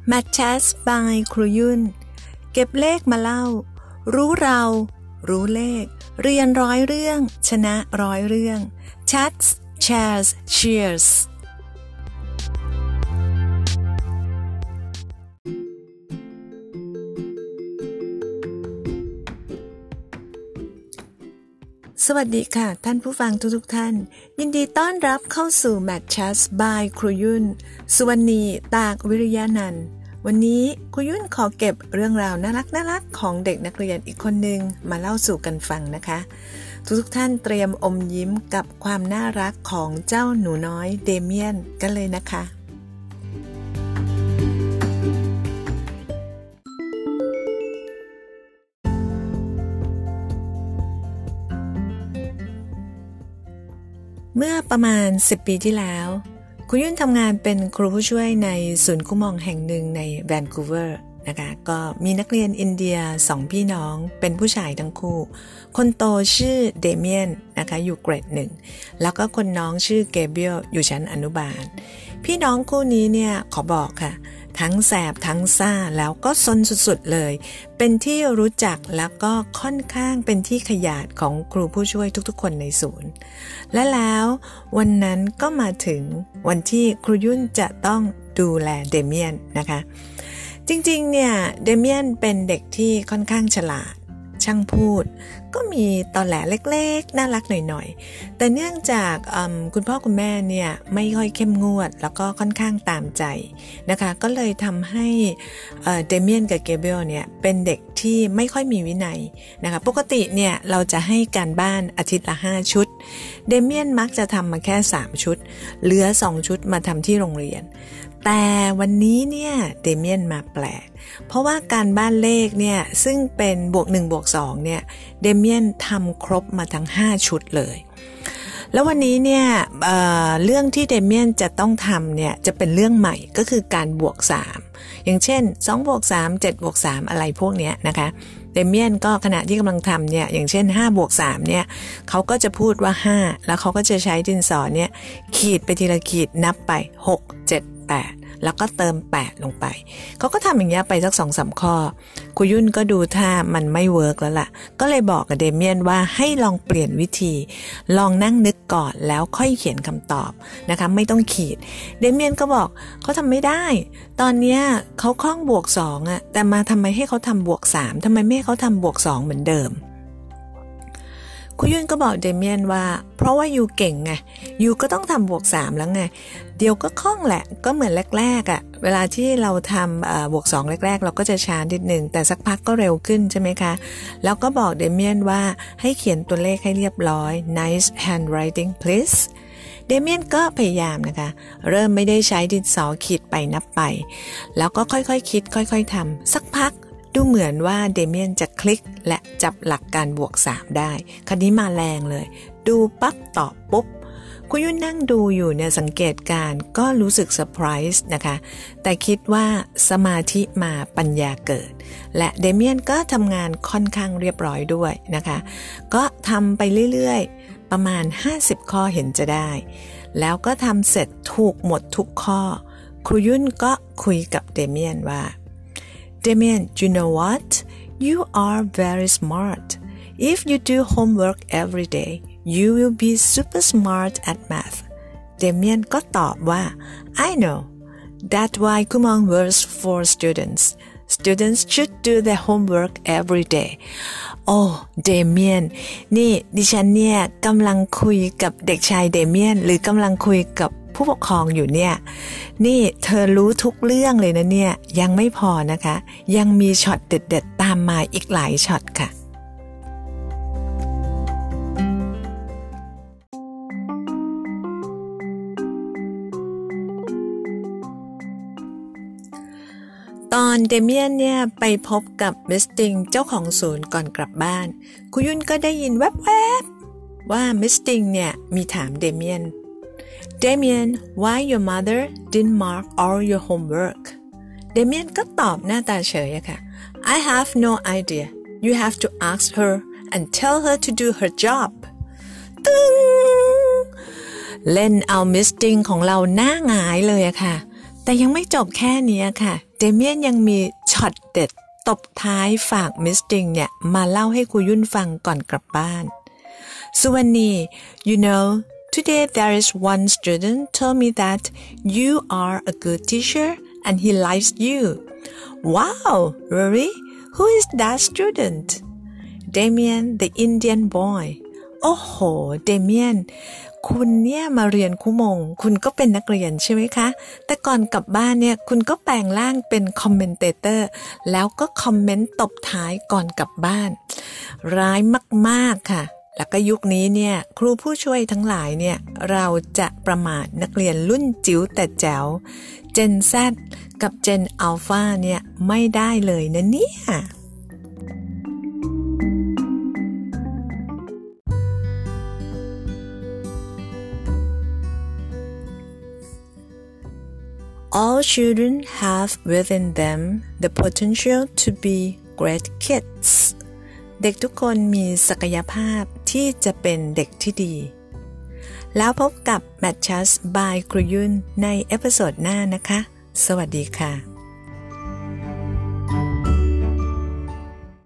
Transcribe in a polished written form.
Math Chat by ครูยุ่นเก็บเลขมาเล่ารู้เรารู้เลขเรียนร้อยเรื่องชนะร้อยเรื่อง Chats Shares Cheersสวัสดีค่ะท่านผู้ฟังทุกท่านยินดีต้อนรับเข้าสู่ Math Chat by ครูยุ่นสุวรรณีตากวิริยานันท์วันนี้ครูยุ่นขอเก็บเรื่องราวน่ารักของเด็กนักเรียนอีกคนนึงมาเล่าสู่กันฟังนะคะทุกท่านเตรียมอมยิ้มกับความน่ารักของเจ้าหนูน้อยเดเมียนกันเลยนะคะเมื่อประมาณ10 ปีที่แล้วคุณยุ่นทำงานเป็นครูผู้ช่วยในศูนย์คุ้มครองแห่งหนึ่งในแวนคูเวอร์นะคะก็มีนักเรียนอินเดีย2พี่น้องเป็นผู้ชายทั้งคู่คนโตชื่อเดเมียนนะคะอยู่เกรด1แล้วก็คนน้องชื่อเกเบรียลอยู่ชั้นอนุบาลพี่น้องคู่นี้เนี่ยขอบอกค่ะทั้งแสบทั้งซ่าแล้วก็ซนสุดๆเลยเป็นที่รู้จักแล้วก็ค่อนข้างเป็นที่ขยาดของครูผู้ช่วยทุกๆคนในศูนย์และแล้ววันนั้นก็มาถึงวันที่ครูยุ่นจะต้องดูแลเดเมียนนะคะจริงๆเนี่ยเดเมียนเป็นเด็กที่ค่อนข้างฉลาดช่างพูดก็มีตอแหลเล็กๆน่ารักหน่อยๆแต่เนื่องจากคุณพ่อคุณแม่เนี่ยไม่ค่อยเข้มงวดแล้วก็ค่อนข้างตามใจนะคะก็เลยทำให้เดเมียนกับเกเบรียลเนี่ยเป็นเด็กที่ไม่ค่อยมีวินัยนะคะปกติเนี่ยเราจะให้การบ้านอาทิตย์ละ5 ชุดเดเมียนมักจะทำมาแค่3 ชุดเหลือ2 ชุดมาทำที่โรงเรียนแต่วันนี้เนี่ยเดเมียนมาแปลกเพราะว่าการบ้านเลขเนี่ยซึ่งเป็นบวก1บวก2เนี่ยเดเมียนทำครบมาทั้ง5 ชุดเลยแล้ววันนี้เนี่ยเรื่องที่เดเมียนจะต้องทำเนี่ยจะเป็นเรื่องใหม่ก็คือการบวก3อย่างเช่น2บวก3 7บวก3อะไรพวกเนี้ยนะคะเดเมียนก็ขณะที่กำลังทำเนี่ยอย่างเช่น5บวก3เนี่ยเขาก็จะพูดว่า5แล้วเขาก็จะใช้ดินสอเนี่ยขีดไปทีละขีดนับไป6 7 8แล้วก็เติม8ลงไปเขาก็ทำอย่างเงี้ยไปสัก 2-3 ข้อครูยุ่นก็ดูท่ามันไม่เวิร์กแล้วล่ะก็เลยบอกกับเดเมียนว่าให้ลองเปลี่ยนวิธีลองนั่งนึกก่อนแล้วค่อยเขียนคำตอบนะคะไม่ต้องขีดเดเมียนก็บอกเขาทำไม่ได้ตอนเนี้ยเขาคล่องบวก2อ่ะแต่มาทำไมให้เขาทำบวก3ทำไมไม่ให้เขาทำบวก2เหมือนเดิมครูยุ่นก็บอกเดเมียนว่าเพราะว่ายูเก่งไงยูก็ต้องทำบวก3แล้วไงเดี๋ยวก็คล่องแหละก็เหมือนแรกๆอ่ะเวลาที่เราทำบวก2แรกๆเราก็จะช้านิดนึงแต่สักพักก็เร็วขึ้นใช่ไหมคะแล้วก็บอกเดเมียนว่าให้เขียนตัวเลขให้เรียบร้อย nice handwriting please เดเมียนก็พยายามนะคะเริ่มไม่ได้ใช้ดินสอขีดไปนับไปแล้วก็ค่อยๆคิดค่อยๆทำสักพักดูเหมือนว่าเดเมียนจะคลิกและจับหลักการบวก3ได้คราวนี้มาแรงเลยดูปั๊บตอบปุ๊บคุณยุ่นนั่งดูอยู่เนี่ยสังเกตการก็รู้สึกเซอร์ไพรส์นะคะแต่คิดว่าสมาธิมาปัญญาเกิดและเดเมียนก็ทำงานค่อนข้างเรียบร้อยด้วยนะคะก็ทำไปเรื่อยๆประมาณ50 ข้อเห็นจะได้แล้วก็ทำเสร็จถูกหมดทุกข้อครูยุ่นก็คุยกับเดเมียนว่าDamien, you know what? You are very smart. If you do homework every day, you will be super smart at math. Damien ก็ตอบว่า I know. That's why Kumon works for students. Students should do their homework every day. Oh, Damien นี่ดิฉันเนี่ยกำลังคุยกับเด็กชายเดเมียนหรือกำลังคุยกับผู้ปกครองอยู่เนี่ยนี่เธอรู้ทุกเรื่องเลยนะเนี่ยยังไม่พอนะคะยังมีช็อตเด็ดๆตามมาอีกหลายช็อตค่ะตอนเดเมียนเนี่ยไปพบกับมิสติงเจ้าของศูนย์ก่อนกลับบ้านคุณยุ่นก็ได้ยินแวบๆว่ามิสติงเนี่ยมีถามเดเมียนDamien, why your mother didn't mark all your homework? Damien ก็ตอบหน้าตาเฉยอะค่ะ I have no idea. You have to ask her and tell her to do her job. ตึ้งเล่นเอามิสติงของเราหน้าหงายเลยอะค่ะแต่ยังไม่จบแค่นี้ค่ะเดเมียนยังมีช็อตเด็ดตบท้ายฝากมิสติงเนี่ยมาเล่าให้ครูยุ่นฟังก่อนกลับบ้านสุวรรณี you know today there is one student told me that you are a good teacher and he likes you wow really who is that student Damien the Indian boy โอ้โหเดเมียนคุณเนี่ยมาเรียนคุมงคุณก็เป็นนักเรียนใช่ไหมคะแต่ก่อนกลับบ้านเนี่ยคุณก็แปลงร่างเป็นคอมเมนเตเตอร์แล้วก็คอมเมนต์ตบท้ายก่อนกลับบ้านร้ายมากๆค่ะแล้วก็ยุคนี้เนี่ยครูผู้ช่วยทั้งหลายเนี่ยเราจะประมาทนักเรียนรุ่นจิ๋วแต่แจ๋ว Gen Z กับ Gen Alpha เนี่ยไม่ได้เลยนะเนี่ย All children have within them the potential to be great kids เด็กทุกคนมีศักยภาพที่จะเป็นเด็กที่ดีแล้วพบกับ Matches by ครูยุ่นในเอพิโซดหน้านะคะสวัสดีค่ะ